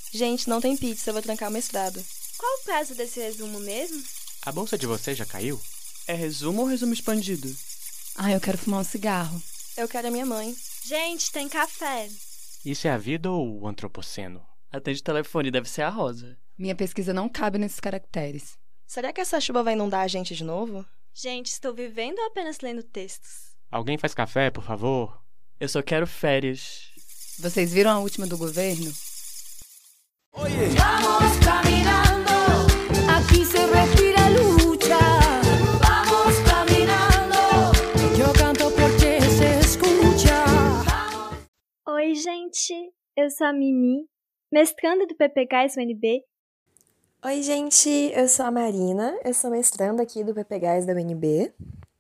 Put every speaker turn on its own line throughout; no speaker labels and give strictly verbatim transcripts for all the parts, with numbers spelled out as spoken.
Gente, não tem pizza, eu vou trancar o mestrado.
Qual o prazo desse resumo mesmo?
A bolsa de vocês já caiu?
É resumo ou resumo expandido?
Ah, eu quero fumar um cigarro.
Eu quero a minha mãe.
Gente, tem café.
Isso é a vida ou o antropoceno?
Atende o telefone, deve ser a Rosa.
Minha pesquisa não cabe nesses caracteres.
Será que essa chuva vai inundar a gente de novo?
Gente, estou vivendo ou apenas lendo textos?
Alguém faz café, por favor?
Eu só quero férias.
Vocês viram a última do governo?
Oye. Vamos caminando, aqui se respira lucha. Vamos caminando, eu canto porque se escucha.
Oi, gente, eu sou a Mimi, mestranda do P P Gás U N B.
Oi, gente, eu sou a Marina, eu sou mestranda aqui do P P Gás da U N B.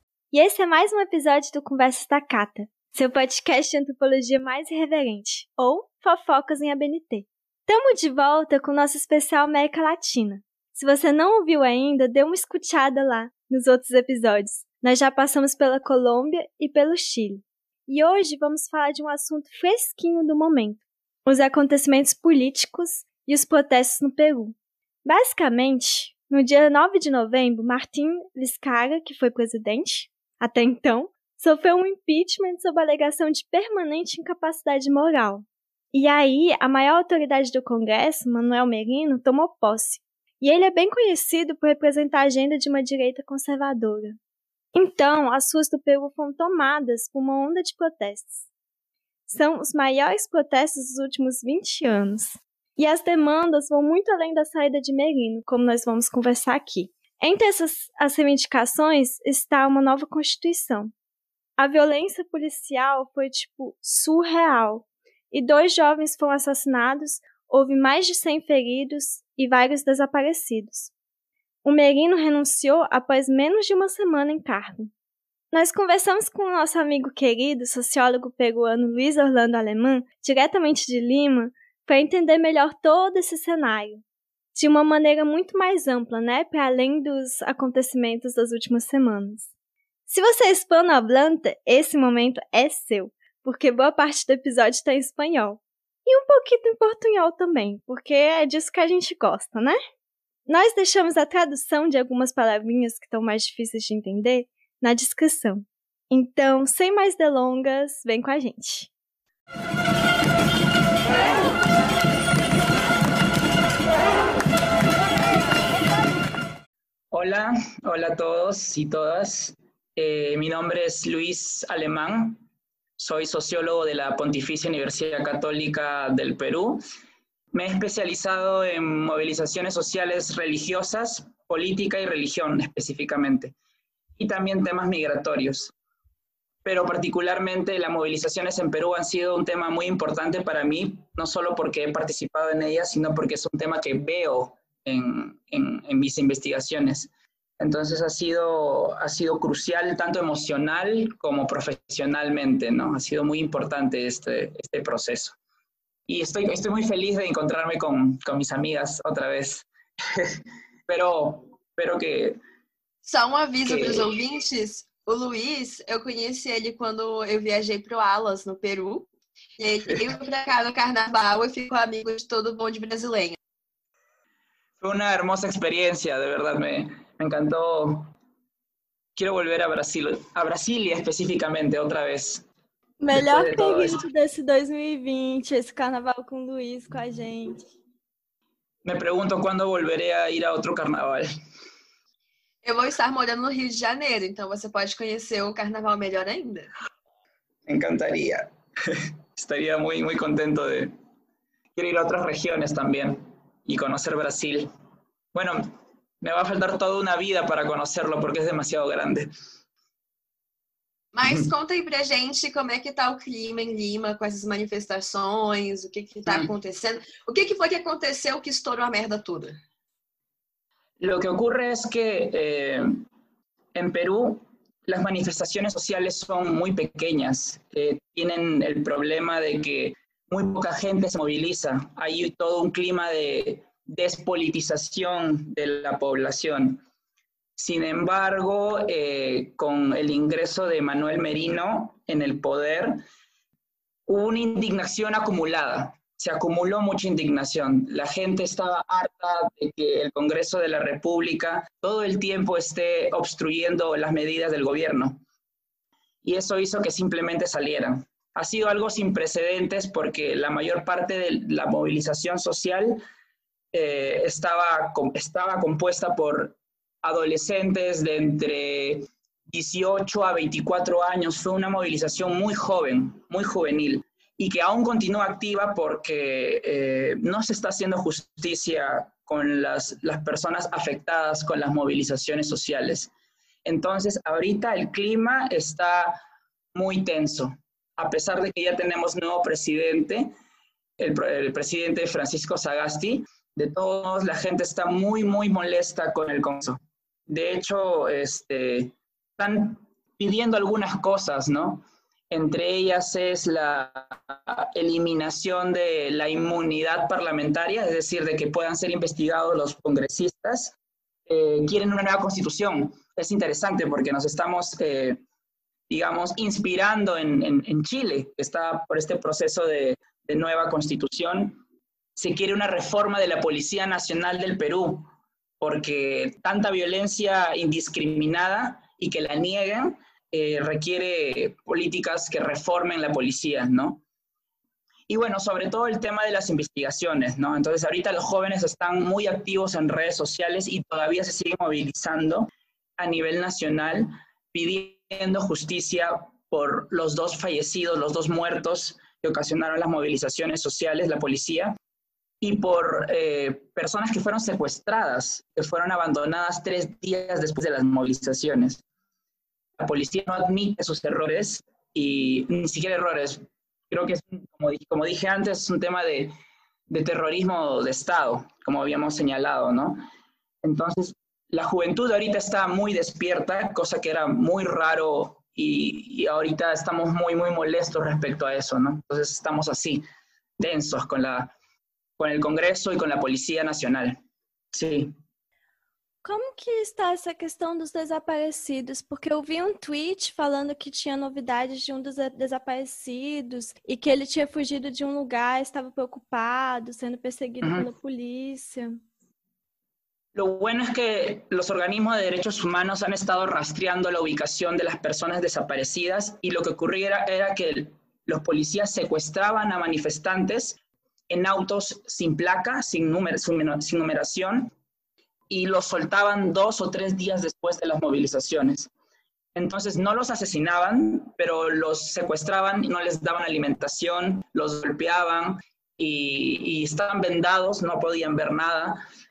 E esse é mais um episódio do Conversas da Cata, seu podcast de antropologia mais irreverente, ou Fofocas em A B N T. Tamo de volta com o nosso especial América Latina. Se você não ouviu ainda, dê uma escutada lá nos outros episódios. Nós já passamos pela Colômbia e pelo Chile. E hoje vamos falar de um assunto fresquinho do momento, os acontecimentos políticos e os protestos no Peru. Basicamente, no dia nove de novembro, Martín Vizcarra, que foi presidente até então, sofreu um impeachment sob a alegação de permanente incapacidade moral. E aí, a maior autoridade do Congresso, Manuel Merino, tomou posse. E ele é bem conhecido por representar a agenda de uma direita conservadora. Então, as ruas do Peru foram tomadas por uma onda de protestos. São os maiores protestos dos últimos vinte anos. E as demandas vão muito além da saída de Merino, como nós vamos conversar aqui. Entre essas as reivindicações está uma nova Constituição. A violência policial foi, tipo, surreal. E dois jovens foram assassinados, houve mais de cem feridos e vários desaparecidos. O Merino renunciou após menos de uma semana em cargo. Nós conversamos com o nosso amigo querido, sociólogo peruano Luiz Orlando Alemã, diretamente de Lima, para entender melhor todo esse cenário, de uma maneira muito mais ampla, né, para além dos acontecimentos das últimas semanas. Se você é hispanohablante, esse momento é seu, porque boa parte do episódio está em espanhol. E um pouquinho em portunhol também, porque é disso que a gente gosta, né? Nós deixamos a tradução de algumas palavrinhas que estão mais difíceis de entender na descrição. Então, sem mais delongas, vem com a gente.
Hola, hola a todos y todas. Eh, mi nombre es Luis Alemán. Soy sociólogo de la Pontificia Universidad Católica del Perú. Me he especializado en movilizaciones sociales religiosas, política y religión específicamente, y también temas migratorios. Pero particularmente las movilizaciones en Perú han sido un tema muy importante para mí, no solo porque he participado en ellas, sino porque es un tema que veo en, en, en mis investigaciones. Entonces ha sido, ha sido crucial tanto emocional como profesionalmente, ¿no? Ha sido muy importante este, este proceso. Y estoy, estoy muy feliz de encontrarme con, con mis amigas otra vez. pero, pero que...
Só um aviso
que...
para os ouvintes. O Luiz, eu conheci ele quando eu viajei para o Alas, no Peru. E ele veio para cá no carnaval e ficou amigo de todo mundo de brasileña.
Fue una hermosa experiencia, de verdad, me, me encantó. Quiero volver a Brasil, a Brasília especificamente, outra vez.
Melhor de período desse dois mil e vinte, esse carnaval com o Luiz, com a gente.
Me pergunto quando volveré a ir a outro carnaval.
Eu vou estar morando no Rio de Janeiro, então você pode conhecer o carnaval melhor ainda.
Me encantaría. Estaría muy, muy contento de... Quiero ir a otras regiones también y conocer Brasil. Bueno, me va a faltar toda una vida para conocerlo porque es demasiado grande.
Mas conta aí pra gente como é que tá o clima em Lima com essas manifestações, o que que tá acontecendo. O que que foi que aconteceu que estourou a merda toda?
Lo que ocurre es que eh, en Perú las manifestaciones sociales son muy pequeñas. Eh, tienen el problema de que muy poca gente se moviliza. Hay todo un clima de despolitización de la población. Sin embargo, eh, con el ingreso de Manuel Merino en el poder, hubo una indignación acumulada. se acumuló mucha indignación. La gente estaba harta de que el Congreso de la República todo el tiempo esté obstruyendo las medidas del gobierno. Y eso hizo que simplemente salieran. Ha sido algo sin precedentes porque la mayor parte de la movilización social eh, estaba, estaba compuesta por adolescentes de entre dieciocho a veinticuatro años. Fue una movilización muy joven, muy juvenil, y que aún continúa activa porque eh, no se está haciendo justicia con las, las personas afectadas con las movilizaciones sociales. Entonces, ahorita el clima está muy tenso. A pesar de que ya tenemos nuevo presidente, el, el presidente Francisco Sagasti, de todos modos la gente está muy, muy molesta con el Congreso. De hecho, este, están pidiendo algunas cosas, ¿no? Entre ellas es la eliminación de la inmunidad parlamentaria, es decir, de que puedan ser investigados los congresistas. Eh, quieren una nueva constitución. Es interesante porque nos estamos, eh, digamos, inspirando en, en, en Chile, que está por este proceso de, de nueva constitución. Se quiere una reforma de la Policía Nacional del Perú, porque tanta violencia indiscriminada y que la nieguen, Eh, requiere políticas que reformen la policía, ¿no? Y bueno, sobre todo el tema de las investigaciones, ¿no? Entonces ahorita los jóvenes están muy activos en redes sociales y todavía se siguen movilizando a nivel nacional pidiendo justicia por los dos fallecidos, los dos muertos que ocasionaron las movilizaciones sociales, la policía, y por eh, personas que fueron secuestradas, que fueron abandonadas tres días después de las movilizaciones. La policía no admite sus errores, y ni siquiera errores. Creo que, es, como, como dije antes, es un tema de, de terrorismo de Estado, como habíamos señalado, ¿no? Entonces, la juventud ahorita está muy despierta, cosa que era muy raro, y, y ahorita estamos muy, muy molestos respecto a eso, ¿no? Entonces estamos así, tensos con, la, con el Congreso y con la Policía Nacional. Sí.
Como que está essa questão dos desaparecidos? Porque eu vi um tweet falando que tinha novidades de um dos desaparecidos e que ele tinha fugido de um lugar, estava preocupado, sendo perseguido uh-huh. pela polícia.
Lo bueno es que los organismos de derechos humanos han estado rastreando la ubicación de las personas desaparecidas, y lo que ocurría era, era que los policías secuestraban a manifestantes en autos sin placa, sin, número, sin numeración, y los soltaban dos o tres días después de las movilizaciones. Entonces no los asesinaban, pero los secuestraban y no les daban alimentación, los golpeaban y, y estaban vendados, no podían ver nada,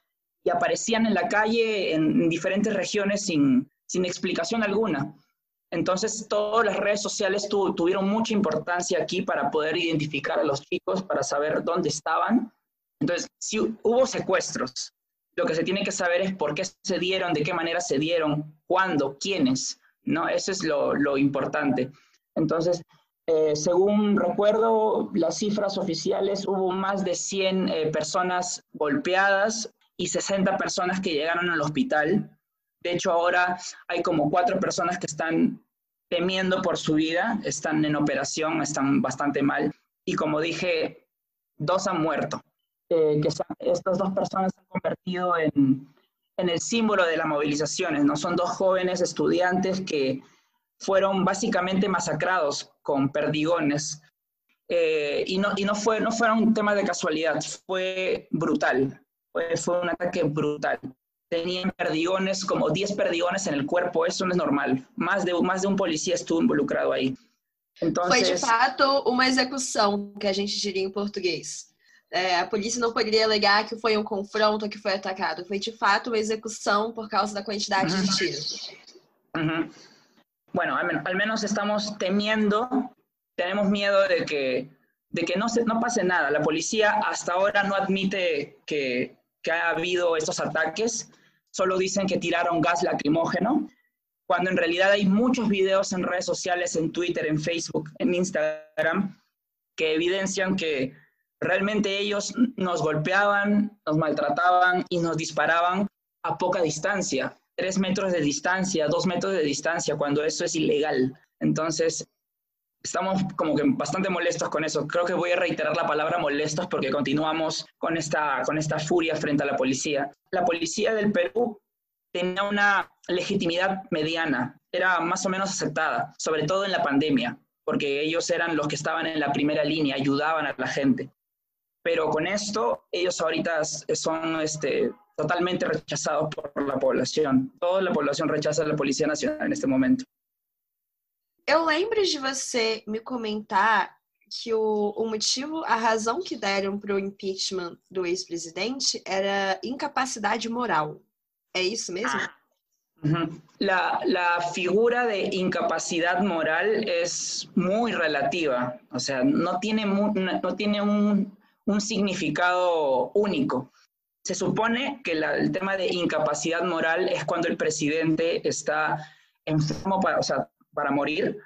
y aparecían en la calle en, en diferentes regiones sin, sin explicación alguna. Entonces todas las redes sociales tu, tuvieron mucha importancia aquí para poder identificar a los chicos, para saber dónde estaban. Entonces, si hubo secuestros, lo que se tiene que saber es por qué se dieron, de qué manera se dieron, cuándo, quiénes, ¿no? Eso es lo, lo importante. Entonces, eh, según recuerdo, las cifras oficiales, hubo más de cien eh, personas golpeadas y sesenta personas que llegaron al hospital. De hecho, ahora hay como cuatro personas que están temiendo por su vida, están en operación, están bastante mal. Y como dije, dos han muerto. Eh, que son, estas dos personas se han convertido en, en el símbolo de las movilizaciones, ¿no? Son dos jóvenes estudiantes que fueron básicamente masacrados con perdigones, eh, y, no, y no, fue, no fue un tema de casualidad, fue brutal, fue, fue un ataque brutal. Tenían perdigones, como diez perdigones en el cuerpo, eso no es normal. Más de, más de um policía estuvo involucrado aí. Entonces,
foi de fato uma execução, que a gente diria em português. É, a polícia não poderia alegar que foi um confronto, que foi atacado. Foi de fato uma execução por causa da quantidade uh-huh. de tiros.
Uh-huh. Bueno, al, al menos estamos temiendo, tenemos miedo de que, de que no, se, no pase nada. La policía hasta ahora no admite que, que ha habido estos ataques, solo dicen que tiraron gas lacrimógeno, cuando en realidad hay muchos videos en redes sociales, en Twitter, en Facebook, en Instagram, que evidencian que realmente ellos nos golpeaban, nos maltrataban y nos disparaban a poca distancia, tres metros de distancia, dos metros de distancia, cuando eso es ilegal. Entonces, estamos como que bastante molestos con eso. Creo que voy a reiterar la palabra molestos porque continuamos con esta, con esta furia frente a la policía. La policía del Perú tenía una legitimidad mediana, era más o menos aceptada, sobre todo en la pandemia, porque ellos eran los que estaban en la primera línea, ayudaban a la gente. Pero con esto, ellos ahorita son este, totalmente rechazados por la población. Toda la población rechaza a la Policía Nacional en este momento.
Eu lembro de você me comentar que o, o motivo, a razão que deram para o impeachment do ex-presidente era incapacidade moral. ¿Es eso mismo?
Ah. Uh-huh. La, la figura de incapacidad moral es muy relativa, o sea, no tiene, mu- no tiene un, un significado único. Se supone que la, el tema de incapacidad moral es cuando el presidente está enfermo para, o sea, para morir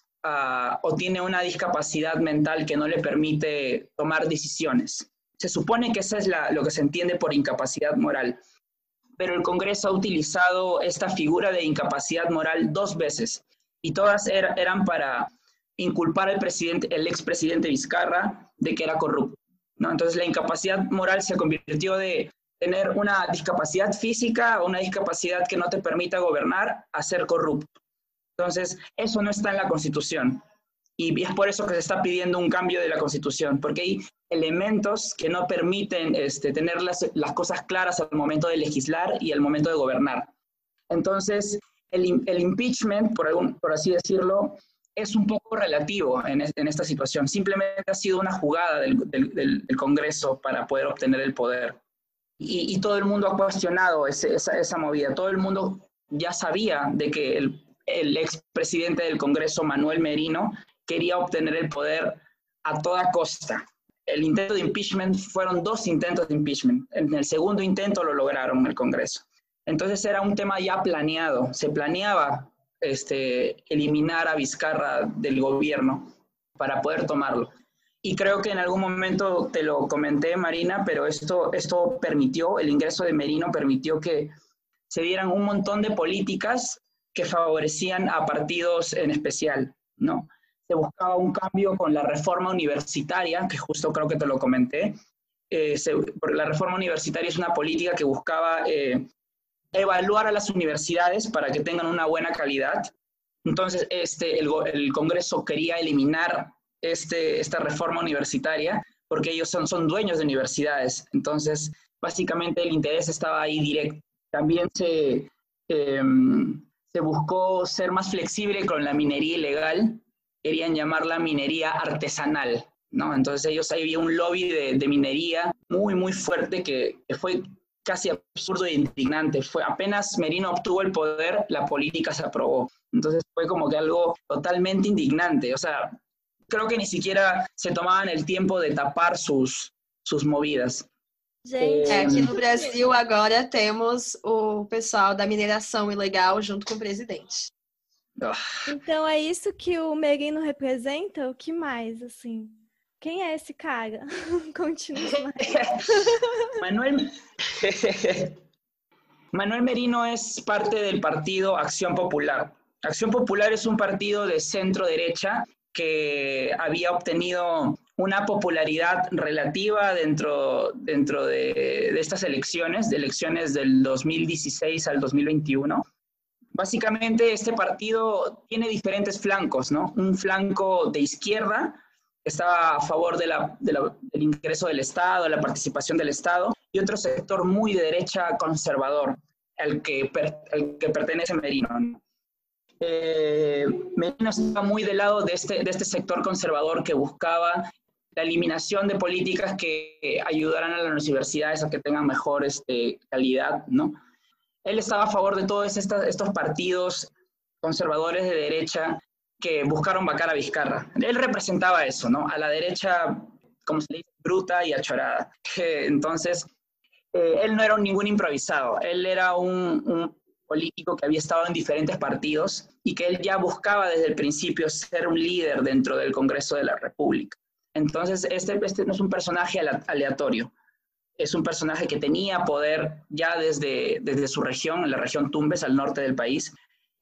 uh, o tiene una discapacidad mental que no le permite tomar decisiones. Se supone que eso es la, lo que se entiende por incapacidad moral. Pero el Congreso ha utilizado esta figura de incapacidad moral dos veces, y todas er, eran para inculpar al presidente, el expresidente Vizcarra de que era corrupto, ¿no? Entonces la incapacidad moral se convirtió de tener una discapacidad física o una discapacidad que no te permita gobernar a ser corrupto. Entonces eso no está en la Constitución, y es por eso que se está pidiendo un cambio de la Constitución, porque hay elementos que no permiten este, tener las, las cosas claras al momento de legislar y al momento de gobernar. Entonces, el, el impeachment, por, algún, por así decirlo, es un poco relativo en, en esta situación. Simplemente ha sido una jugada del, del, del, del Congreso para poder obtener el poder. Y, y todo el mundo ha cuestionado ese, esa, esa movida. Todo el mundo ya sabía de que el, el expresidente del Congreso, Manuel Merino, quería obtener el poder a toda costa. El intento de impeachment, fueron dos intentos de impeachment. En el segundo intento lo lograron en el Congreso. Entonces era un tema ya planeado. Se planeaba este, eliminar a Vizcarra del gobierno para poder tomarlo. Y creo que en algún momento te lo comenté, Marina, pero esto, esto permitió, el ingreso de Merino permitió que se dieran un montón de políticas que favorecían a partidos en especial, ¿no? Se buscaba un cambio con la reforma universitaria, que justo creo que te lo comenté. Eh, se, la reforma universitaria es una política que buscaba eh, evaluar a las universidades para que tengan una buena calidad. Entonces, este, el, el Congreso quería eliminar este, esta reforma universitaria porque ellos son, son dueños de universidades. Entonces, básicamente el interés estaba ahí directo. También se, eh, se buscó ser más flexible con la minería ilegal. Querían llamarla minería artesanal, ¿no? Entonces ellos, ahí había un lobby de, de minería muy, muy fuerte que, que fue casi absurdo e indignante. Fue, apenas Merino obtuvo el poder, la política se aprobó. Entonces fue como que algo totalmente indignante. O sea, creo que ni siquiera se tomaban el tiempo de tapar sus, sus movidas.
Gente,
É, aqui no Brasil agora temos o pessoal da mineração ilegal junto com o presidente.
então é isso que o Merino representa? O que mais, assim? Quem é esse cara? Continua.
Manuel... Manuel Merino es parte del partido Acción Popular. Acción Popular es un partido de centro-derecha que había obtenido una popularidad relativa dentro, dentro de, de estas elecciones, de elecciones del dos mil dieciséis al dos mil veintiuno. Básicamente este partido tiene diferentes flancos, ¿no? Un flanco de izquierda que estaba a favor de la, de la, del ingreso del Estado, de la participación del Estado, y otro sector muy de derecha conservador, al que, per, al que pertenece Merino, ¿no? Eh, Merino estaba muy del lado de este, de este sector conservador que buscaba la eliminación de políticas que ayudaran a las universidades a que tengan mejor este, calidad, ¿no? Él estaba a favor de todos estos, estos partidos conservadores de derecha que buscaron vacar a Vizcarra. Él representaba eso, ¿no? A la derecha, como se le dice, bruta y achorada. Entonces, eh, él no era un, ningún improvisado. Él era un, un político que había estado en diferentes partidos y que él ya buscaba desde el principio ser un líder dentro del Congreso de la República. Entonces, este, este no es un personaje aleatorio. Es un personaje que tenía poder ya desde, desde su región, en la región Tumbes, al norte del país,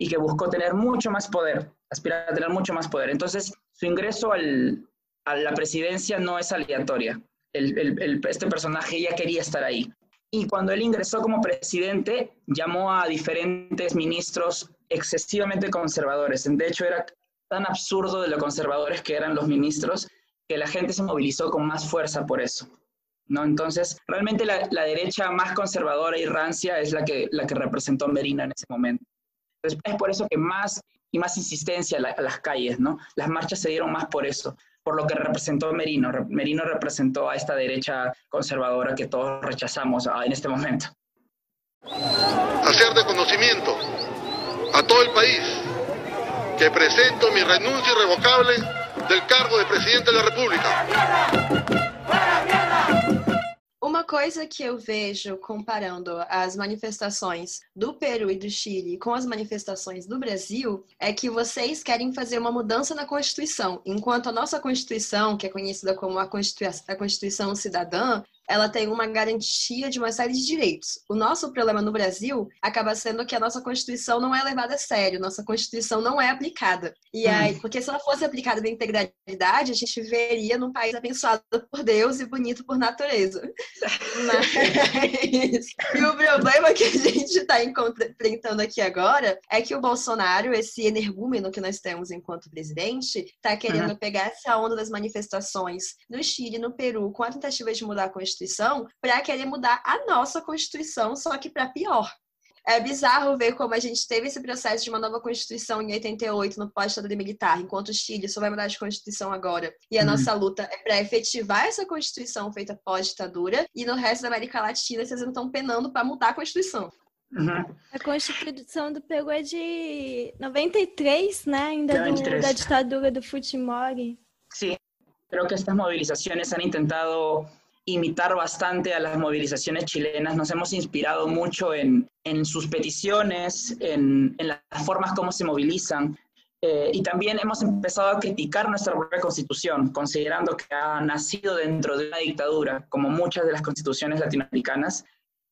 y que buscó tener mucho más poder, aspirar a tener mucho más poder. Entonces, su ingreso al, a la presidencia no es aleatoria. El, el, el, este personaje ya quería estar ahí. Y cuando él ingresó como presidente, llamó a diferentes ministros excesivamente conservadores. De hecho, era tan absurdo de lo conservadores que eran los ministros que la gente se movilizó con más fuerza por eso, ¿no? Entonces, realmente la, la derecha más conservadora y rancia es la que, la que representó Merino en ese momento. Entonces, es por eso que más y más insistencia a, la, a las calles, ¿no? Las marchas se dieron más por eso, por lo que representó Merino. Merino representó a esta derecha conservadora que todos rechazamos en este momento.
Hacer de conocimiento a todo el país que presento mi renuncia irrevocable del cargo de presidente de la República.
Uma coisa que eu vejo comparando as manifestações do Peru e do Chile com as manifestações do Brasil é que vocês querem fazer uma mudança na Constituição, enquanto a nossa Constituição, que é conhecida como a Constituição, a Constituição Cidadã, ela tem uma garantia de uma série de direitos. O nosso problema no Brasil acaba sendo que a nossa Constituição não é levada a sério, nossa Constituição não é aplicada. E aí, porque se ela fosse aplicada na integralidade, a gente viveria num país abençoado por Deus e bonito por natureza. Mas... E o problema que a gente está enfrentando aqui agora é que o Bolsonaro, esse energúmeno que nós temos enquanto presidente, está querendo uhum. pegar essa onda das manifestações no Chile, no Peru, com a tentativa de mudar a Constituição, para querer mudar a nossa Constituição, só que para pior. É bizarro ver como a gente teve esse processo de uma nova Constituição em oitenta e oito, no pós-ditadura militar, enquanto o Chile só vai mudar de Constituição agora. E a uhum. nossa luta é para efetivar essa Constituição feita pós-ditadura, e no resto da América Latina vocês não estão penando para mudar a Constituição.
Uhum. A Constituição do Peru é de noventa e três, né? Ainda do, da ditadura do Fujimori.
Sí, creo que estas movilizaciones han intentado imitar bastante a las movilizaciones chilenas. Nos hemos inspirado mucho en, en sus peticiones, en, en las formas como se movilizan, eh, y también hemos empezado a criticar nuestra propia constitución, considerando que ha nacido dentro de una dictadura, como muchas de las constituciones latinoamericanas,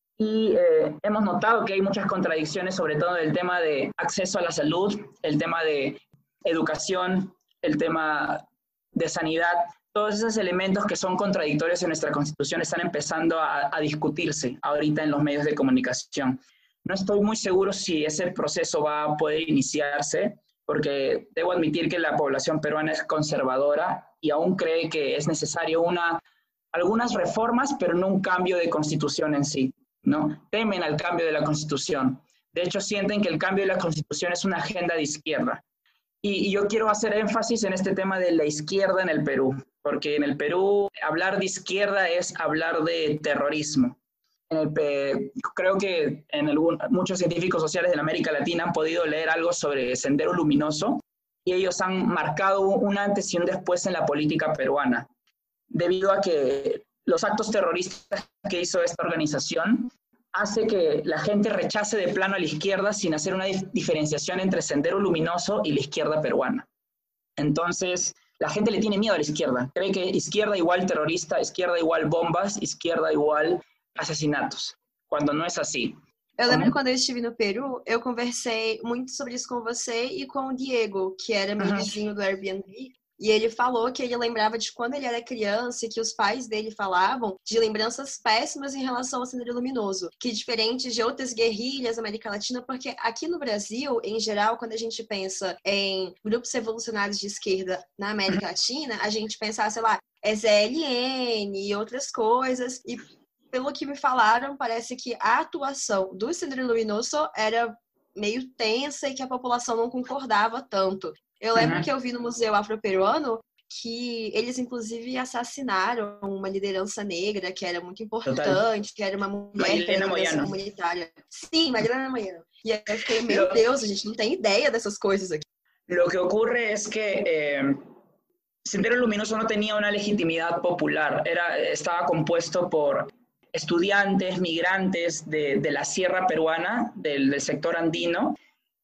y eh, hemos notado que hay muchas contradicciones, sobre todo en el tema de acceso a la salud, el tema de educación, el tema de sanidad. Todos esos elementos que son contradictorios en nuestra Constitución están empezando a, a discutirse ahorita en los medios de comunicación. No estoy muy seguro si ese proceso va a poder iniciarse, porque debo admitir que la población peruana es conservadora y aún cree que es necesario una, algunas reformas, pero no un cambio de Constitución en sí, ¿no? Temen al cambio de la Constitución. De hecho, sienten que el cambio de la Constitución es una agenda de izquierda. Y, y yo quiero hacer énfasis en este tema de la izquierda en el Perú, porque en el Perú hablar de izquierda es hablar de terrorismo. En el, creo que en algún, muchos científicos sociales de la América Latina han podido leer algo sobre Sendero Luminoso y ellos han marcado un antes y un después en la política peruana, debido a que los actos terroristas que hizo esta organización hace que la gente rechace de plano a la izquierda sin hacer una dif- diferenciación entre Sendero Luminoso y la izquierda peruana. Entonces, la gente le tiene miedo a la izquierda. Cree que izquierda igual terrorista, izquierda igual bombas, izquierda igual assassinatos, quando não é assim.
Eu lembro uhum. quando eu estive no Peru, eu conversei muito sobre isso com você e com o Diego, que era meu uhum. vizinho do Airbnb, e ele falou que ele lembrava de quando ele era criança e que os pais dele falavam de lembranças péssimas em relação ao Sendero Luminoso, que diferente de outras guerrilhas da América Latina, porque aqui no Brasil, em geral, quando a gente pensa em grupos revolucionários de esquerda na América Latina, a gente pensa, sei lá, S L N e outras coisas, e pelo que me falaram, parece que a atuação do Sendero Luminoso era meio tensa e que a população não concordava tanto. Eu lembro uhum. que eu vi no Museu Afro-Peruano que eles, inclusive, assassinaram uma liderança negra que era muito importante, Total. que era uma mulher que era liderança comunitária. Sim, Marilena Moyano. E aí eu fiquei, meu Lo... Deus, a gente não tem ideia dessas coisas aqui.
Lo que ocurre es que eh, Sendero Luminoso no tenía una legitimidad popular. Era, estaba compuesto por estudiantes, migrantes de, de la sierra peruana, del, del sector andino,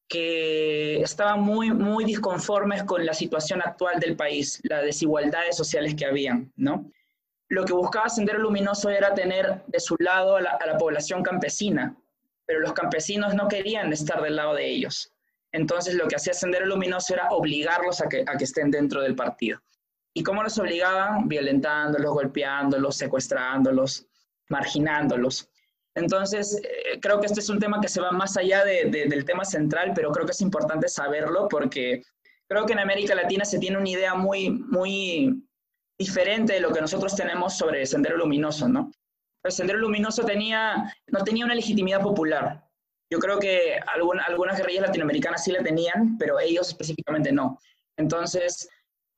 que estaban muy, muy disconformes con la situación actual del país, las desigualdades sociales que habían, ¿no? Lo que buscaba Sendero Luminoso era tener de su lado a la, a la población campesina, pero los campesinos no querían estar del lado de ellos. Entonces lo que hacía Sendero Luminoso era obligarlos a que, a que estén dentro del partido. ¿Y cómo los obligaban? Violentándolos, golpeándolos, secuestrándolos, marginándolos. Entonces, eh, creo que este es un tema que se va más allá de, de, del tema central, pero creo que es importante saberlo porque creo que en América Latina se tiene una idea muy, muy diferente de lo que nosotros tenemos sobre Sendero Luminoso, ¿no? El Sendero Luminoso tenía, no tenía una legitimidad popular. Yo creo que alguna, algunas guerrillas latinoamericanas sí la tenían, pero ellos específicamente no. Entonces,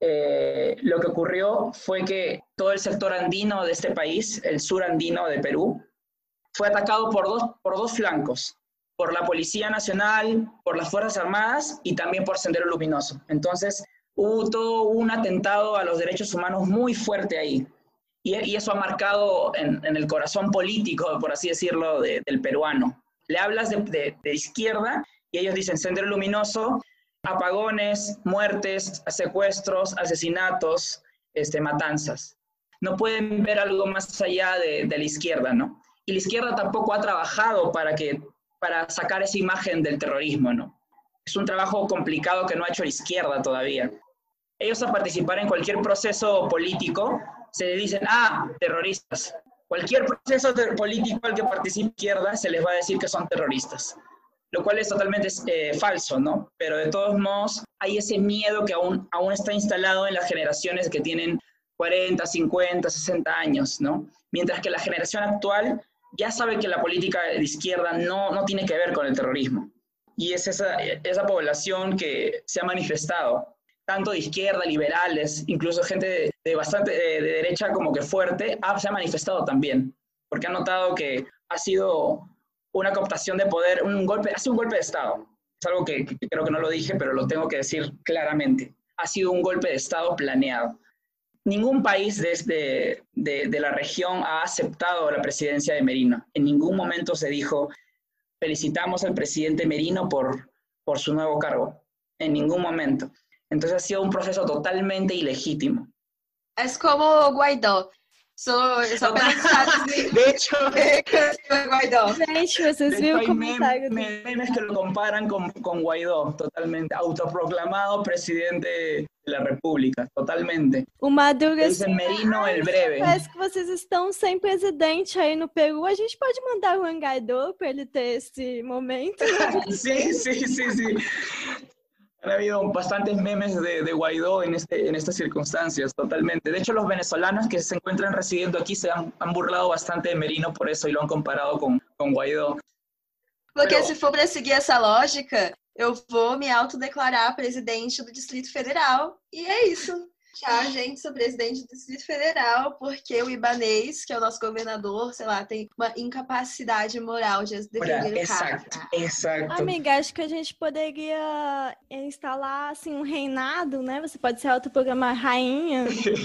eh, lo que ocurrió fue que todo el sector andino de este país, el sur andino de Perú, fue atacado por dos, por dos flancos, por la Policía Nacional, por las Fuerzas Armadas y también por Sendero Luminoso. Entonces, hubo todo un atentado a los derechos humanos muy fuerte ahí. Y, y eso ha marcado en, en el corazón político, por así decirlo, de, del peruano. Le hablas de, de, de izquierda y ellos dicen Sendero Luminoso, apagones, muertes, secuestros, asesinatos, este, matanzas. No pueden ver algo más allá de, de la izquierda, ¿no? Y la izquierda tampoco ha trabajado para, que, para sacar esa imagen del terrorismo, ¿no? Es un trabajo complicado que no ha hecho la izquierda todavía. Ellos a participar en cualquier proceso político se le dicen, ah, terroristas. Cualquier proceso político al que participe la izquierda se les va a decir que son terroristas, lo cual es totalmente eh, falso, ¿no? Pero de todos modos hay ese miedo que aún, aún está instalado en las generaciones que tienen cuarenta, cincuenta, sesenta años, ¿no? Mientras que la generación actual ya sabe que la política de izquierda no, no tiene que ver con el terrorismo. Y es esa, esa población que se ha manifestado, tanto de izquierda, liberales, incluso gente de, de bastante de, de derecha como que fuerte, ha, se ha manifestado también, porque ha notado que ha sido una cooptación de poder, un golpe, ha sido un golpe de Estado. Es algo que, que creo que no lo dije, pero lo tengo que decir claramente. Ha sido un golpe de Estado planeado. Ningún país desde de, de la región ha aceptado la presidencia de Merino. En ningún momento se dijo, felicitamos al presidente Merino por, por su nuevo cargo. En ningún momento. Entonces ha sido un proceso totalmente ilegítimo.
Es como Guaidó. So, só
de hecho,
Guaidó.
Gente, vocês viram o comentário?
Memes, memes que lo comparan con, con Guaidó, totalmente. Autoproclamado presidente de la República, totalmente.
O Maduro
dicen Merino el breve.
Parece que vocês estão sem presidente aí no Peru. A gente pode mandar o Juan Guaidó para ele ter esse momento.
Sí, sí, sí, sí. Han habido bastantes memes de, de Guaidó en, este, en estas circunstancias, totalmente. De hecho, los venezolanos que se encuentran residiendo aquí se han, han burlado bastante de Merino por eso y lo han comparado con, con Guaidó.
Porque
Pero...
se for para seguir essa lógica, eu vou me autodeclarar presidente do Distrito Federal. E é isso. Tchau, gente, sou presidente do Distrito Federal, porque o Ibanez, que é o nosso governador, sei lá, tem uma incapacidade moral de defender o
exato,
cargo.
Exato.
Amiga, acho que a gente poderia instalar assim, um reinado, né? Você pode se autoprogramar rainha.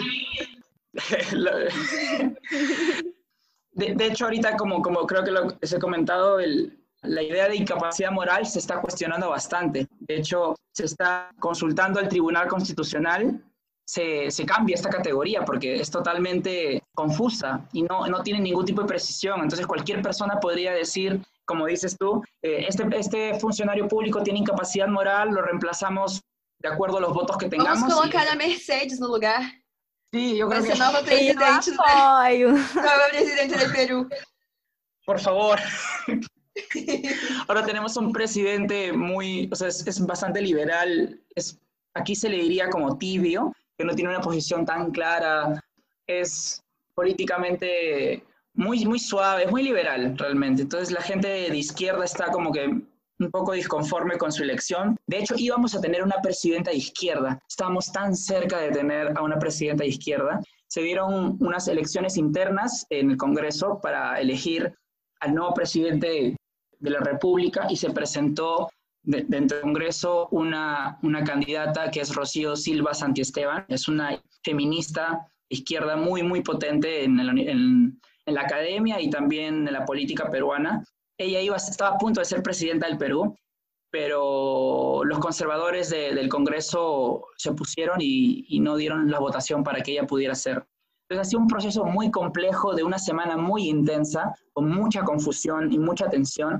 de, de hecho, ahorita, como, como creo que lo les he comentado, el, la idea de incapacidad moral se está cuestionando bastante. De hecho, se está consultando al Tribunal Constitucional. Se, se cambia esta categoría porque es totalmente confusa y no, no tiene ningún tipo de precisión. Entonces cualquier persona podría decir, como dices tú, eh, este, este funcionario público tiene incapacidad moral, lo reemplazamos de acuerdo a los votos que tengamos.
Vamos colocar y... a Mercedes no lugar.
Sí, yo creo
Vai
que...
ser nova presidente, do... nova presidente del Perú.
Por favor. Ahora tenemos un presidente muy, o sea, es, es bastante liberal, es, aquí se le diría como tibio, que no tiene una posición tan clara, es políticamente muy, muy suave, es muy liberal realmente. Entonces la gente de izquierda está como que un poco disconforme con su elección. De hecho, íbamos a tener una presidenta de izquierda. Estábamos tan cerca de tener a una presidenta de izquierda. Se dieron unas elecciones internas en el Congreso para elegir al nuevo presidente de la República y se presentó De, dentro del Congreso una, una candidata que es Rocío Silva Santiesteban, es una feminista izquierda muy, muy potente en, el, en, en la academia y también en la política peruana. Ella iba, estaba a punto de ser presidenta del Perú, pero los conservadores de, del Congreso se opusieron y, y no dieron la votación para que ella pudiera ser. Entonces ha sido un proceso muy complejo de una semana muy intensa, con mucha confusión y mucha tensión,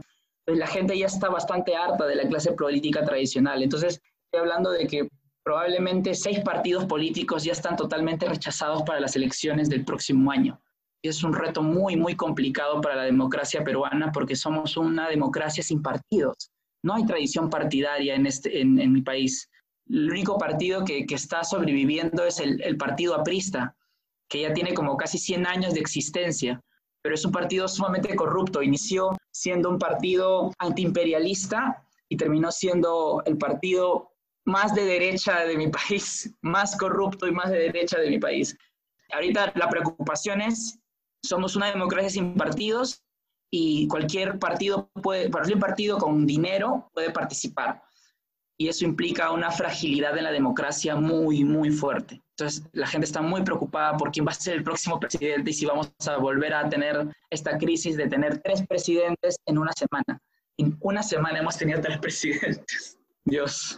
pues la gente ya está bastante harta de la clase política tradicional. Entonces, estoy hablando de que probablemente seis partidos políticos ya están totalmente rechazados para las elecciones del próximo año. Y es un reto muy, muy complicado para la democracia peruana porque somos una democracia sin partidos. No hay tradición partidaria en, este, en, en mi país. El único partido que, que está sobreviviendo es el, el partido aprista, que ya tiene como casi cien años de existencia, pero es un partido sumamente corrupto. Inició siendo un partido antiimperialista y terminó siendo el partido más de derecha de mi país, más corrupto y más de derecha de mi país. Ahorita la preocupación es, somos una democracia sin partidos y cualquier partido, puede, cualquier partido con dinero puede participar. Y eso implica una fragilidad en la democracia muy, muy fuerte. Entonces, la gente está muy preocupada por quién va a ser el próximo presidente y si vamos a volver a tener esta crisis de tener tres presidentes en una semana. En una semana hemos tenido tres presidentes. Dios.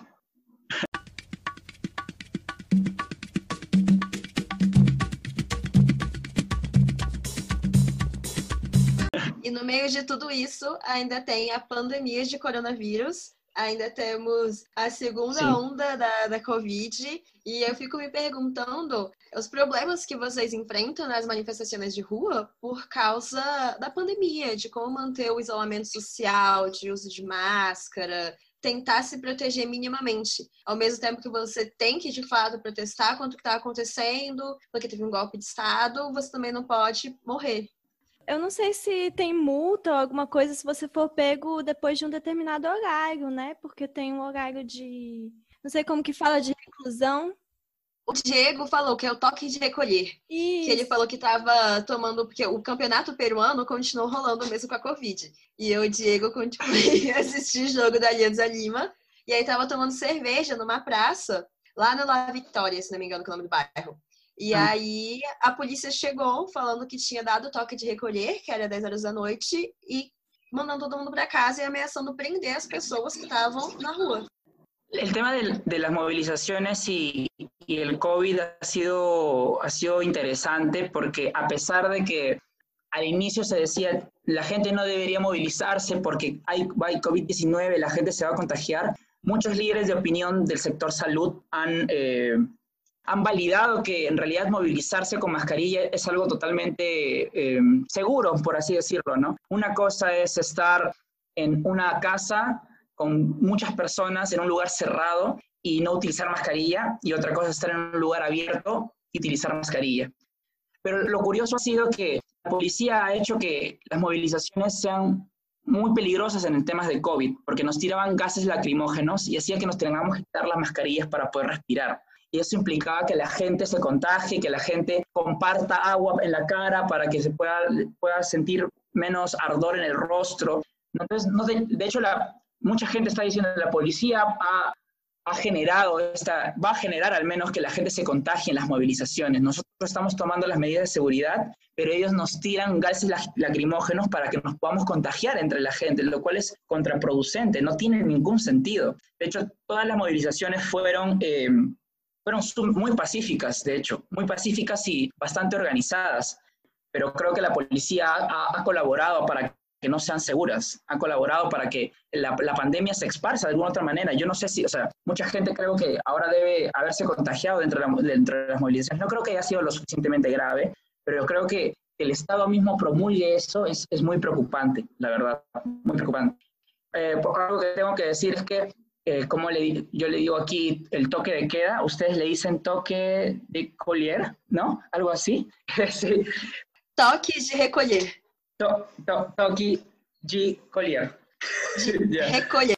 E no meio de tudo isso, ainda tem a pandemia de coronavírus, ainda temos a segunda Sim. onda da, da Covid, e eu fico me perguntando os problemas que vocês enfrentam nas manifestações de rua por causa da pandemia, de como manter o isolamento social, de uso de máscara, tentar se proteger minimamente, ao mesmo tempo que você tem que, de fato, protestar contra o que está acontecendo, porque teve um golpe de Estado, você também não pode morrer.
Eu não sei se tem multa ou alguma coisa se você for pego depois de um determinado horário, né? Porque tem um horário de... Não sei como que fala, de reclusão.
O Diego falou que é o toque de recolher.
Isso.
Que ele falou que estava tomando... Porque o campeonato peruano continuou rolando mesmo com a Covid. E o Diego continuou a assistir o jogo da Alianza Lima. E aí estava tomando cerveja numa praça, lá na La Vitória, se não me engano, que é o nome do bairro. E hum. aí a polícia chegou falando que tinha dado toque de recolher, que era dez horas da noite, e mandando todo mundo para casa e ameaçando prender as pessoas que estavam na rua.
El tema de, de las movilizaciones y, y el COVID ha sido, ha sido interesante porque a pesar de que al inicio se decía la gente no debería movilizarse porque hay, hay COVID diecinueve, la gente se va a contagiar, muchos líderes de opinión del sector salud han... Eh, han validado que en realidad movilizarse con mascarilla es algo totalmente eh, seguro, por así decirlo, ¿no? Una cosa es estar en una casa con muchas personas en un lugar cerrado y no utilizar mascarilla, y otra cosa es estar en un lugar abierto y utilizar mascarilla. Pero lo curioso ha sido que la policía ha hecho que las movilizaciones sean muy peligrosas en el tema de COVID, porque nos tiraban gases lacrimógenos y hacía que nos tengamos que quitar las mascarillas para poder respirar. Y eso implicaba que la gente se contagie, que la gente comparta agua en la cara para que se pueda, pueda sentir menos ardor en el rostro. Entonces, no de, de hecho, la, mucha gente está diciendo que la policía ha, ha generado esta, va a generar al menos que la gente se contagie en las movilizaciones. Nosotros estamos tomando las medidas de seguridad, pero ellos nos tiran gases lacrimógenos para que nos podamos contagiar entre la gente, lo cual es contraproducente, no tiene ningún sentido. De hecho, todas las movilizaciones fueron... Eh, Fueron muy pacíficas, de hecho, muy pacíficas y bastante organizadas, pero creo que la policía ha, ha colaborado para que no sean seguras, ha colaborado para que la, la pandemia se esparza de alguna otra manera. Yo no sé si, o sea, mucha gente creo que ahora debe haberse contagiado dentro de, la, dentro de las movilizaciones. No creo que haya sido lo suficientemente grave, pero yo creo que el Estado mismo promulgue eso es, es muy preocupante, la verdad, muy preocupante. Eh, algo que tengo que decir es que Eh, como le, yo le digo aquí, el toque de queda, ustedes le dicen toque de collier, ¿no? Algo así. Sí.
Toque de recolher.
To, to, toque de collier.
Yeah. Recolher.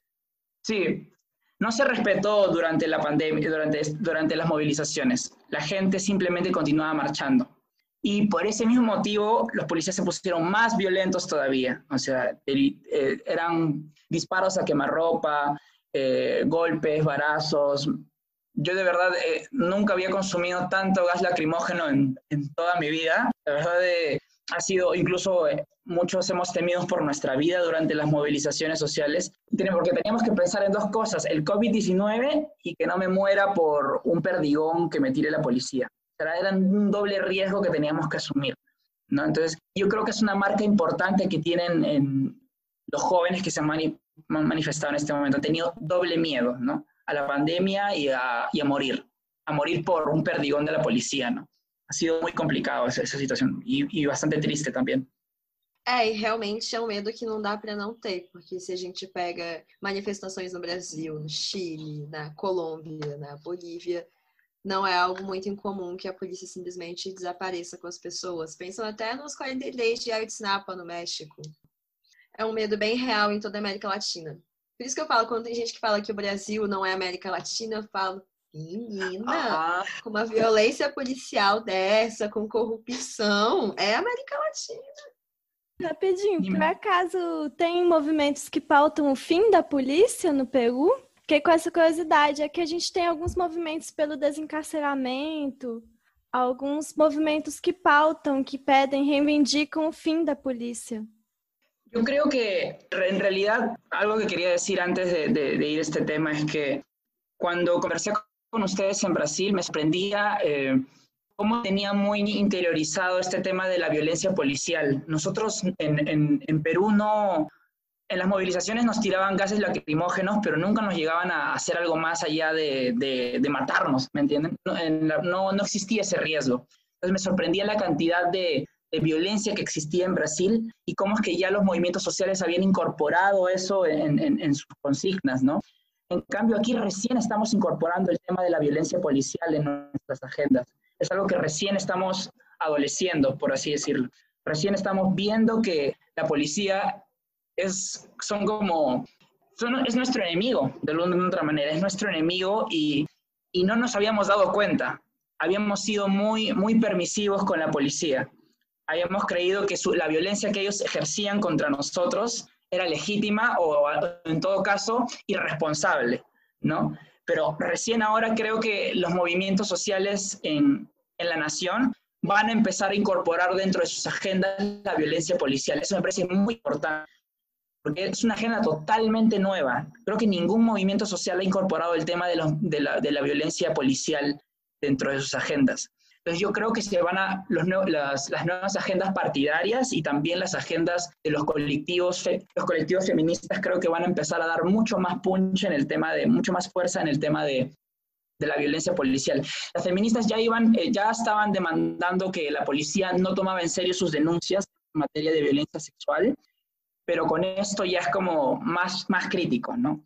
Sí. No se respetó durante la pandemia, durante, durante las movilizaciones. La gente simplemente continuaba marchando. Y por ese mismo motivo, los policías se pusieron más violentos todavía. O sea, el, eh, eran disparos a quemarropa, Eh, golpes, varazos. Yo de verdad eh, nunca había consumido tanto gas lacrimógeno en, en toda mi vida. La verdad eh, ha sido, incluso eh, muchos hemos temido por nuestra vida durante las movilizaciones sociales, porque teníamos que pensar en dos cosas, el COVID diecinueve y que no me muera por un perdigón que me tire la policía. O sea, era un doble riesgo que teníamos que asumir, ¿no? Entonces yo creo que es una marca importante que tienen en los jóvenes que se han mani manifestado en este momento han tenido doble miedo, ¿no? A la pandemia y a, y a morir, a morir por un perdigón de la policía, ¿no? Ha sido muy complicado essa, essa situação e, e bastante triste também.
É, e realmente é um medo que não dá para não ter, porque se a gente pega manifestações no Brasil, no Chile, na Colômbia, na Bolívia, não é algo muito incomum que a polícia simplesmente desapareça com as pessoas. Pensam até nos quarenta e três de Ayotzinapa, no México. É um medo bem real em toda a América Latina. Por isso que eu falo, quando tem gente que fala que o Brasil não é América Latina, eu falo, menina, ah. com uma violência policial dessa, com corrupção, é América Latina.
Rapidinho, por acaso tem movimentos que pautam o fim da polícia no Peru? Fiquei com essa curiosidade, é que a gente tem alguns movimentos pelo desencarceramento, alguns movimentos que pautam, que pedem, reivindicam o fim da polícia.
Yo creo que en realidad algo que quería decir antes de, de, de ir a este tema es que cuando conversé con ustedes en Brasil me sorprendía eh, cómo tenía muy interiorizado este tema de la violencia policial. Nosotros en, en, en Perú no, en las movilizaciones nos tiraban gases lacrimógenos, pero nunca nos llegaban a hacer algo más allá de, de, de matarnos, ¿me entienden? No, en la, no, no existía ese riesgo. Entonces me sorprendía la cantidad de de violencia que existía en Brasil y cómo es que ya los movimientos sociales habían incorporado eso en, en, en sus consignas, ¿no? En cambio, aquí recién estamos incorporando el tema de la violencia policial en nuestras agendas. Es algo que recién estamos adoleciendo, por así decirlo. Recién estamos viendo que la policía es, son como, son, es nuestro enemigo, de alguna otra manera, es nuestro enemigo y, y no nos habíamos dado cuenta. Habíamos sido muy, muy permisivos con la policía. Habíamos creído que su, la violencia que ellos ejercían contra nosotros era legítima o, en todo caso, irresponsable, ¿no? Pero recién ahora creo que los movimientos sociales en, en la nación van a empezar a incorporar dentro de sus agendas la violencia policial. Eso me parece muy importante, porque es una agenda totalmente nueva. Creo que ningún movimiento social ha incorporado el tema de, los, de, la, de la violencia policial dentro de sus agendas. Entonces yo creo que se van a los, las, las nuevas agendas partidarias y también las agendas de los colectivos, los colectivos feministas creo que van a empezar a dar mucho más punch en el tema de, mucho más fuerza en el tema de, de la violencia policial. Las feministas ya iban, eh, ya estaban demandando que la policía no tomaba en serio sus denuncias en materia de violencia sexual, pero con esto ya es como más, más crítico, ¿no?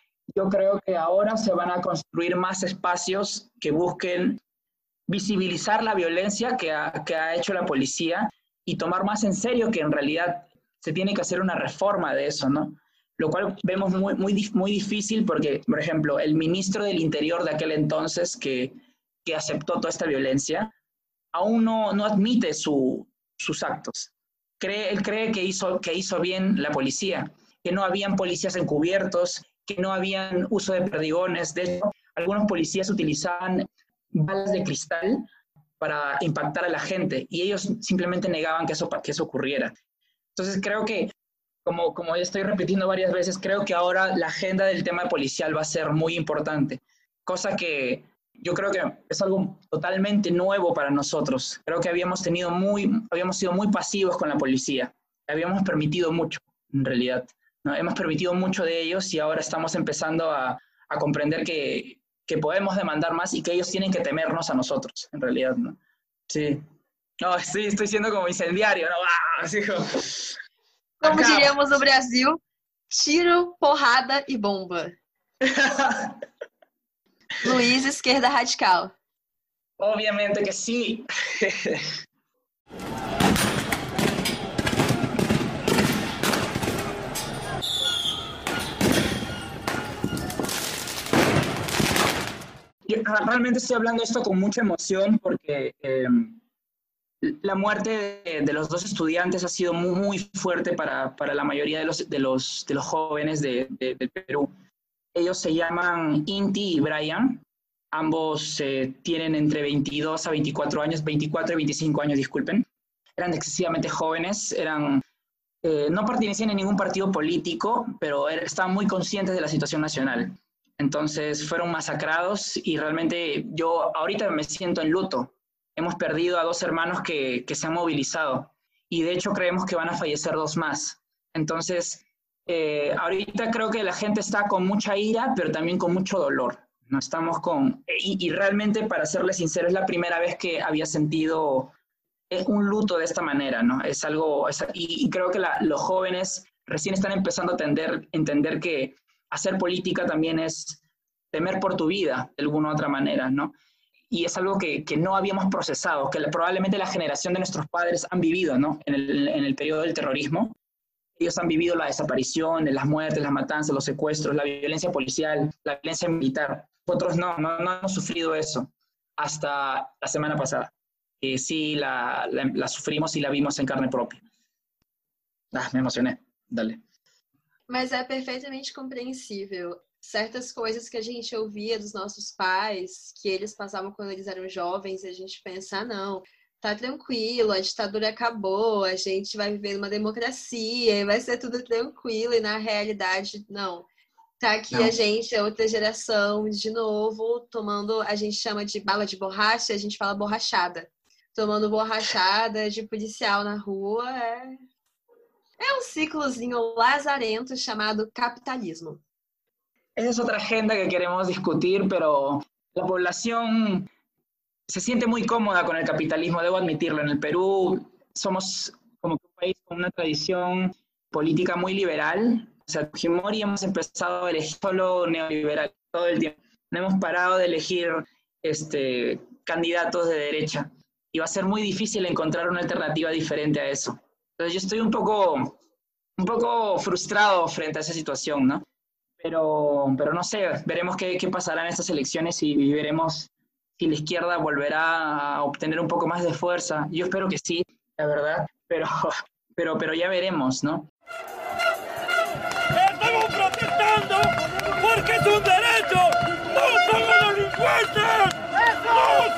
Yo creo que ahora se van a construir más espacios que busquen visibilizar la violencia que ha, que ha hecho la policía y tomar más en serio que en realidad se tiene que hacer una reforma de eso, ¿no? Lo cual vemos muy, muy, muy difícil porque, por ejemplo, el ministro del Interior de aquel entonces que, que aceptó toda esta violencia, aún no, no admite su, sus actos. Cree, él cree que hizo, que hizo bien la policía, que no habían policías encubiertos, que no habían uso de perdigones. De hecho, algunos policías utilizaban balas de cristal para impactar a la gente y ellos simplemente negaban que eso, que eso ocurriera. Entonces creo que, como, como ya estoy repitiendo varias veces, creo que ahora la agenda del tema policial va a ser muy importante, cosa que yo creo que es algo totalmente nuevo para nosotros. Creo que habíamos, tenido muy, habíamos sido muy pasivos con la policía, habíamos permitido mucho, en realidad, ¿no? Hemos permitido mucho de ellos y ahora estamos empezando a, a comprender que que podemos demandar más y que ellos tienen que temernos a nosotros, en realidad, ¿no? Sí. No, sí, estoy siendo como incendiario, ¿no? Ah, así como...
Como diríamos no Brasil, tiro, porrada e bomba. Luiz, esquerda radical.
Obviamente que sí. Yo realmente estoy hablando esto con mucha emoción porque eh, la muerte de, de los dos estudiantes ha sido muy, muy fuerte para, para la mayoría de los, de los, de los jóvenes de, de, del Perú. Ellos se llaman Inti y Brian. Ambos eh, tienen entre veintidós a veinticuatro años, veinticuatro y veinticinco años, disculpen. Eran excesivamente jóvenes, eran, eh, no pertenecían a ningún partido político, pero er, estaban muy conscientes de la situación nacional. Entonces fueron masacrados y realmente yo ahorita me siento en luto. Hemos perdido a dos hermanos que, que se han movilizado y de hecho creemos que van a fallecer dos más. Entonces Eh, ahorita creo que la gente está con mucha ira, pero también con mucho dolor. No estamos con... Y, y realmente, para serles sincero, es la primera vez que había sentido un luto de esta manera, ¿no? Es algo... Es, y, y creo que la, los jóvenes recién están empezando a entender, entender que hacer política también es temer por tu vida, de alguna u otra manera, ¿no? Y es algo que, que no habíamos procesado, que la, probablemente la generación de nuestros padres han vivido, ¿no? En el, en el periodo del terrorismo. Ellos han vivido la desaparición, las muertes, las matanzas, los secuestros, la violencia policial, la violencia militar. Nosotros no, no, no hemos sufrido eso hasta la semana pasada. Que sí la, la, la sufrimos y la vimos en carne propia. Ah, me emocioné. Dale.
Mas é perfeitamente compreensível. Certas coisas que a gente ouvia dos nossos pais, que eles passavam quando eles eram jovens, e a gente pensa, ah, não, tá tranquilo, a ditadura acabou, a gente vai viver numa democracia, vai ser tudo tranquilo, e na realidade, não. Tá aqui não. A gente, é outra geração, de novo, tomando, a gente chama de bala de borracha, a gente fala borrachada. Tomando borrachada de policial na rua, é, é um ciclozinho lazarento chamado capitalismo.
Esa es otra agenda que queremos discutir, pero la población se siente muy cómoda con el capitalismo, debo admitirlo. En el Perú somos como un país con una tradición política muy liberal. O sea, Fujimori hemos empezado a elegir solo neoliberal todo el tiempo. No hemos parado de elegir este, candidatos de derecha. Y va a ser muy difícil encontrar una alternativa diferente a eso. Entonces yo estoy un poco, un poco frustrado frente a esa situación, ¿no? Pero, pero no sé, veremos qué, qué pasará en estas elecciones y, y veremos si la izquierda volverá a obtener un poco más de fuerza. Yo espero que sí, la verdad, pero, pero, pero ya veremos, ¿no?
¡Estamos protestando porque es un derecho! ¡No somos delincuentes! ¡No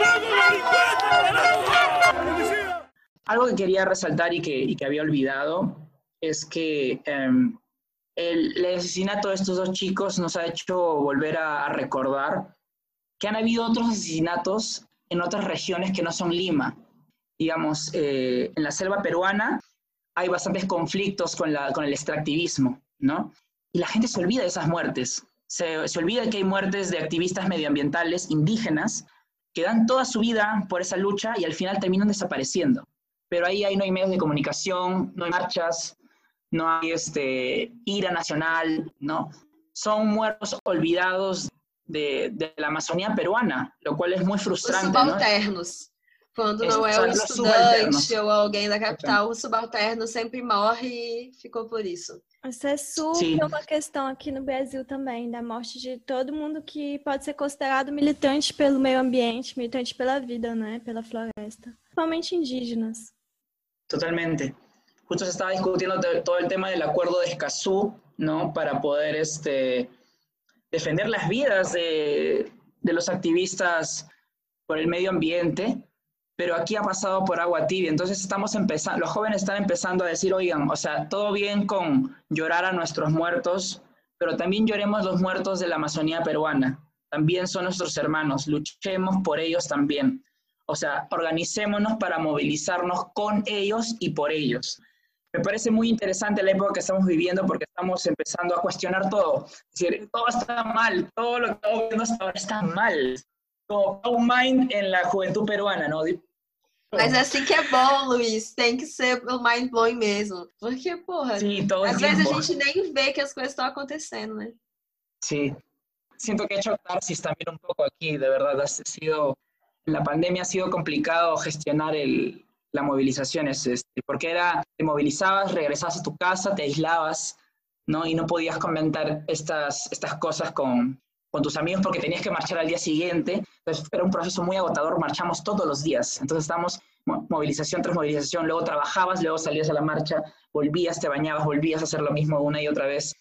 somos delincuentes!
Algo que quería resaltar y que, y que había olvidado es que... Um, El, el asesinato de estos dos chicos nos ha hecho volver a, a recordar que han habido otros asesinatos en otras regiones que no son Lima. Digamos, eh, en la selva peruana hay bastantes conflictos con, la, con el extractivismo, ¿no? Y la gente se olvida de esas muertes. Se, se olvida que hay muertes de activistas medioambientales indígenas que dan toda su vida por esa lucha y al final terminan desapareciendo. Pero ahí, ahí no hay medios de comunicación, no hay marchas, no hay este, ira nacional, ¿no? Son muertos olvidados de, de la Amazonía peruana, lo cual es muy frustrante.
Os subalternos. ¿No? Quando não é o estudante ou alguém da capital, o subalterno sempre morre e ficou por isso.
Isso é super Sim. uma questão aqui no Brasil também, da morte de todo mundo que pode ser considerado militante pelo meio ambiente, militante pela vida, né? Pela floresta. Principalmente indígenas.
Totalmente. Justo se estaba discutiendo todo el tema del acuerdo de Escazú, ¿no? Para poder este, defender las vidas de, de los activistas por el medio ambiente, pero aquí ha pasado por agua tibia. Entonces estamos empezando, los jóvenes están empezando a decir, oigan, o sea, todo bien con llorar a nuestros muertos, pero también lloremos los muertos de la Amazonía peruana. También son nuestros hermanos, luchemos por ellos también. O sea, organicémonos para movilizarnos con ellos y por ellos. Me parece muy interesante la época que estamos viviendo porque estamos empezando a cuestionar todo. Es decir, todo está mal, todo lo que estamos viendo hasta ahora está mal. Como un mind en la juventud peruana, ¿no?
Mas é assim que é bom, Luiz. Tem que ser o mind blowing mesmo. Porque, porra,
sí, todo
às
tiempo.
vezes a gente nem vê que as coisas estão acontecendo, né?
Sí. Siento que he hecho catarsis también un poco aquí, de verdad. Ha sido, en la pandemia ha sido complicado gestionar el... las movilizaciones, este, porque era, te movilizabas, regresabas a tu casa, te aislabas, ¿no? Y no podías comentar estas, estas cosas con, con tus amigos porque tenías que marchar al día siguiente. Entonces era un proceso muy agotador, marchamos todos los días. Entonces estábamos movilización tras movilización, luego trabajabas, luego salías a la marcha, volvías, te bañabas, volvías a hacer lo mismo una y otra vez.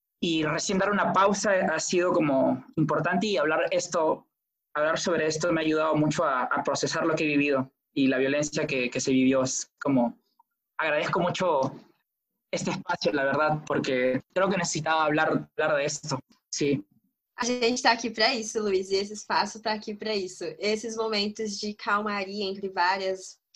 Y recién dar una pausa ha sido como importante y hablar, esto, hablar sobre esto me ha ayudado mucho a, a procesar lo que he vivido. Y la violencia que, que se vivió. Es como, agradezco mucho este espacio, la verdad, porque creo que necesitaba hablar, hablar de esto, sí.
A gente está aqui para isso, Luiz, e esse espaço está aqui para isso. Esses momentos de calmaria entre várias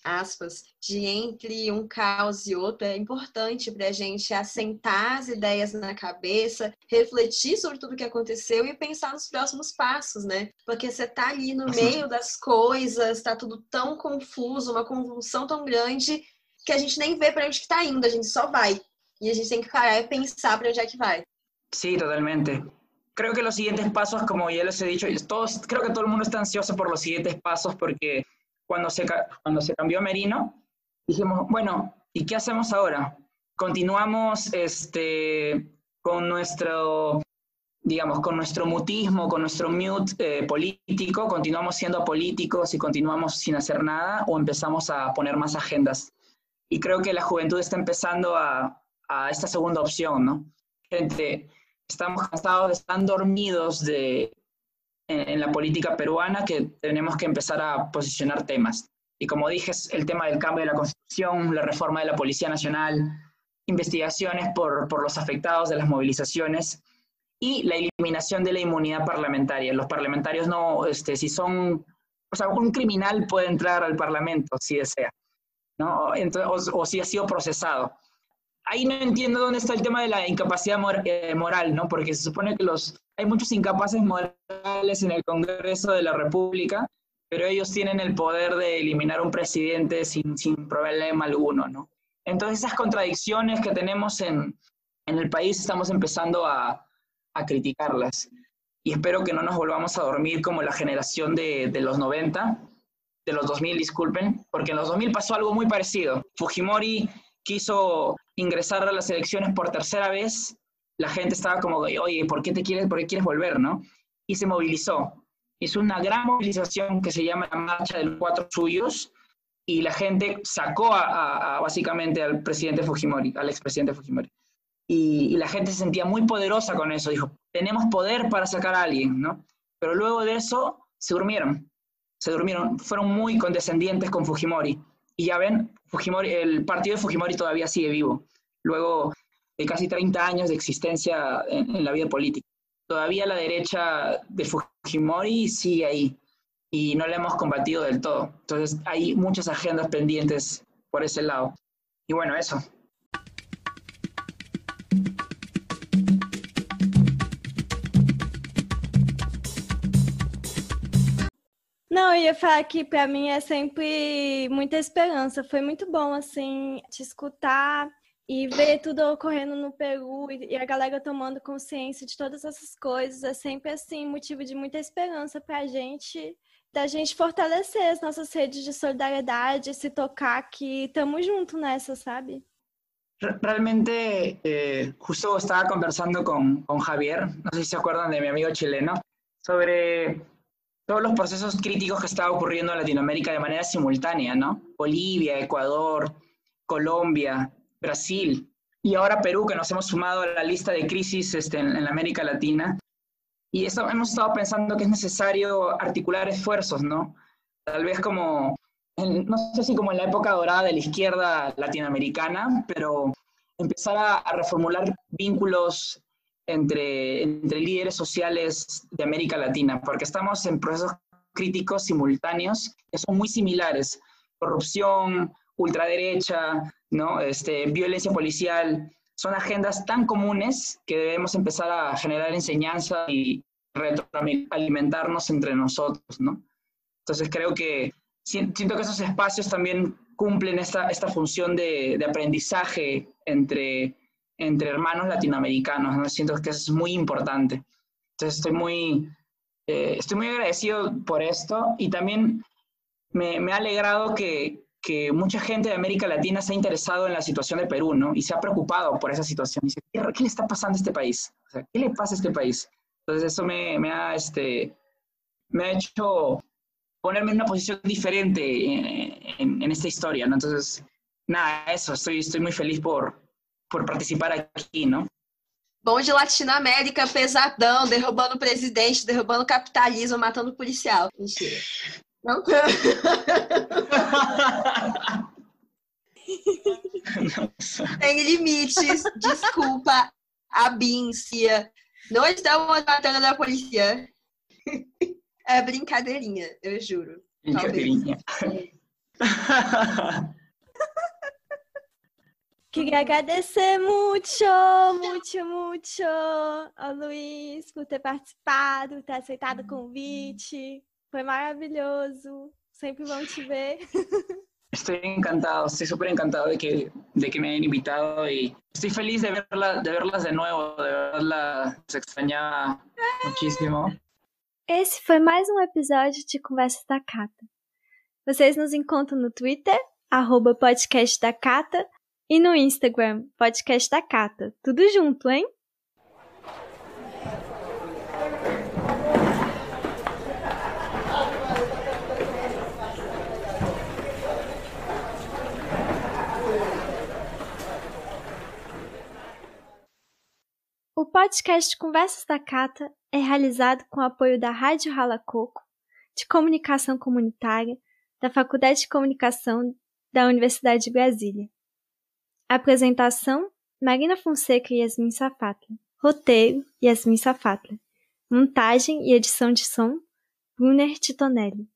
aspas, de entre um caos e outro, é importante para a gente assentar as ideias na cabeça, refletir sobre tudo o que aconteceu e pensar nos próximos passos, né? Porque você tá ali no meio das coisas, tá tudo tão confuso, uma convulsão tão grande, que a gente nem vê para onde que tá indo, a gente só vai. Y a gente tiene que parar y pensar para allá que va.
Sí, totalmente. Creo que los siguientes pasos, como ya les he dicho, todos, creo que todo el mundo está ansioso por los siguientes pasos porque cuando se, cuando se cambió Merino, dijimos, bueno, ¿y qué hacemos ahora? Continuamos este, con nuestro, digamos, con nuestro mutismo, con nuestro mute eh, político, continuamos siendo apolíticos y continuamos sin hacer nada o empezamos a poner más agendas. Y creo que la juventud está empezando a, a esta segunda opción, ¿no? Gente, estamos cansados, están dormidos de, en, en la política peruana, que tenemos que empezar a posicionar temas. Y como dije, es el tema del cambio de la Constitución, la reforma de la Policía Nacional, investigaciones por, por los afectados de las movilizaciones y la eliminación de la inmunidad parlamentaria. Los parlamentarios no, este, si son, o sea, un criminal puede entrar al Parlamento si desea, ¿no? Entonces, o, o si ha sido procesado. Ahí no entiendo dónde está el tema de la incapacidad mor eh, moral, ¿no? Porque se supone que los, hay muchos incapaces morales en el Congreso de la República, pero ellos tienen el poder de eliminar a un presidente sin, sin problema alguno, ¿no? Entonces esas contradicciones que tenemos en, en el país estamos empezando a, a criticarlas. Y espero que no nos volvamos a dormir como la generación de, de los noventa, de los dos mil, disculpen, porque en los dos mil pasó algo muy parecido. Fujimori quiso ingresar a las elecciones por tercera vez, la gente estaba como, oye, ¿por qué te quieres, por qué quieres volver, no? Y se movilizó. Hizo una gran movilización que se llama la Marcha de los Cuatro Suyos, y la gente sacó a, a, a básicamente al presidente Fujimori, al expresidente Fujimori. Y, y la gente se sentía muy poderosa con eso, dijo, tenemos poder para sacar a alguien, ¿no? Pero luego de eso se durmieron, se durmieron, fueron muy condescendientes con Fujimori. Y ya ven, Fujimori, el partido de Fujimori todavía sigue vivo, luego de casi treinta años de existencia en, en la vida política. Todavía la derecha de Fujimori sigue ahí y no la hemos combatido del todo. Entonces hay muchas agendas pendientes por ese lado. Y bueno, eso.
Não, eu ia falar que pra mim é sempre muita esperança. Foi muito bom, assim, te escutar e ver tudo ocorrendo no Peru e a galera tomando consciência de todas essas coisas. É sempre, assim, motivo de muita esperança pra gente, da gente fortalecer as nossas redes de solidariedade, se tocar que estamos juntos nessa, sabe?
Realmente, eh, justo estaba conversando con, con Javier, no sé si se acuerdan de mi amigo chileno, sobre todos los procesos críticos que estaba ocurriendo en Latinoamérica de manera simultánea, ¿no? Bolivia, Ecuador, Colombia, Brasil, y ahora Perú, que nos hemos sumado a la lista de crisis este, en, en América Latina. Y eso, hemos estado pensando que es necesario articular esfuerzos, ¿no? Tal vez como, en, no sé si como en la época dorada de la izquierda latinoamericana, pero empezar a, a reformular vínculos Entre, entre líderes sociales de América Latina, porque estamos en procesos críticos simultáneos que son muy similares. Corrupción, ultraderecha, ¿no? este, violencia policial, son agendas tan comunes que debemos empezar a generar enseñanza y retroalimentarnos entre nosotros, ¿no? Entonces creo que siento que esos espacios también cumplen esta, esta función de, de aprendizaje entre entre hermanos latinoamericanos, ¿no? Siento que eso es muy importante. Entonces estoy muy, eh, estoy muy agradecido por esto y también me, me ha alegrado que, que mucha gente de América Latina se ha interesado en la situación de Perú, ¿no? Y se ha preocupado por esa situación. Y dice, ¿qué, ¿qué le está pasando a este país? O sea, ¿qué le pasa a este país? Entonces eso me, me, ha, este, me ha hecho ponerme en una posición diferente en, en, en esta historia, ¿no? Entonces, nada, eso, estoy, estoy muy feliz por por participar aqui, não?
Bom de Latinoamérica, pesadão, derrubando o presidente, derrubando o capitalismo, matando o policial. Mentira. Não. Tem limites, desculpa, abíncia. Não estamos matando a polícia. É brincadeirinha, eu juro.
Brincadeirinha.
Queria agradecer muito, muito, muito ao Luiz por ter participado, ter aceitado o convite. Foi maravilhoso. Sempre bom te ver.
Estoy encantado, estoy súper encantado de que, de que me hayan invitado y estoy feliz de, verla, de verlas de nuevo, de verlas, se extrañaba muchísimo.
Esse foi mais um episódio de Conversas da Cata. Vocês nos encontram no Twitter, arroba podcast da Cata, e no Instagram, podcast da Cata. Tudo junto, hein? O podcast Conversas da Cata é realizado com o apoio da Rádio Rala Coco, de Comunicação Comunitária, da Faculdade de Comunicação da Universidade de Brasília. Apresentação, Marina Fonseca e Yasmin Safatla. Roteiro, Yasmin Safatla. Montagem e edição de som, Brunner Titonelli.